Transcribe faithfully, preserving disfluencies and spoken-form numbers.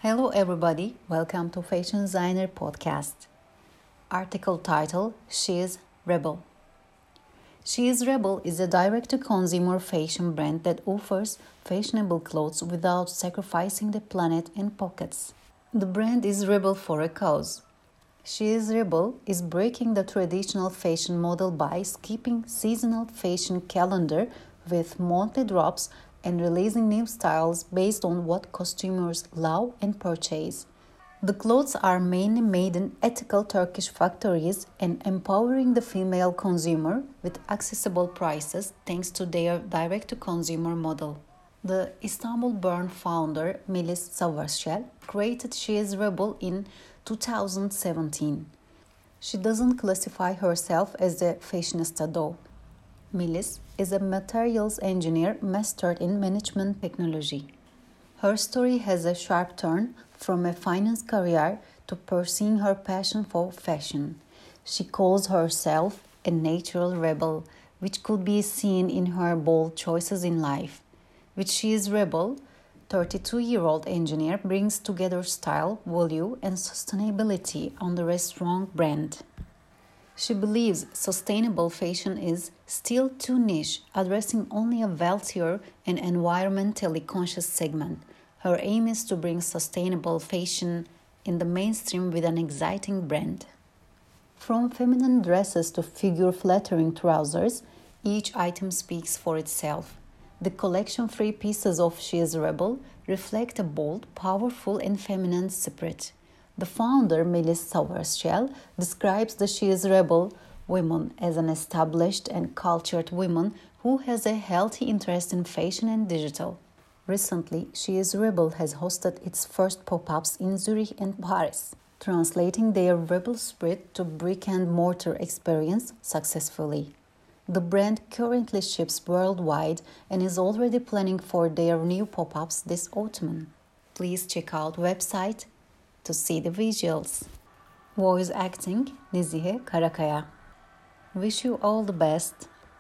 Hello everybody, welcome to Fashion Designer Podcast. Article title, She is Rebel. She is Rebel is a direct-to-consumer fashion brand that offers fashionable clothes without sacrificing the planet and pockets. The brand is rebel for a cause. She is Rebel is breaking the traditional fashion model by skipping seasonal fashion calendar with monthly drops and releasing new styles based on what customers love and purchase. The clothes are mainly made in ethical Turkish factories and empowering the female consumer with accessible prices thanks to their direct-to-consumer model. The Istanbul-born founder Melis Savaşçel created She is Rebel in two thousand seventeen. She doesn't classify herself as a fashionista though. Melis is a materials engineer mastered in management technology. Her story has a sharp turn from a finance career to pursuing her passion for fashion. She calls herself a natural rebel, which could be seen in her bold choices in life. With She is Rebel, thirty-two-year-old engineer brings together style, value, and sustainability under a strong brand. She believes sustainable fashion is still too niche, addressing only a wealthier and environmentally conscious segment. Her aim is to bring sustainable fashion in the mainstream with an exciting brand. From feminine dresses to figure-flattering trousers, each item speaks for itself. The collection three pieces of She is Rebel reflect a bold, powerful, and feminine spirit. The founder, Melis Savaşçel, describes the She is Rebel woman as an established and cultured woman who has a healthy interest in fashion and digital. Recently, She is Rebel has hosted its first pop-ups in Zurich and Paris, translating their rebel spirit to brick-and-mortar experience successfully. The brand currently ships worldwide and is already planning for their new pop-ups this autumn. Please check out website to see the visuals. Voice acting Nezihe Karakaya. Wish you all the best.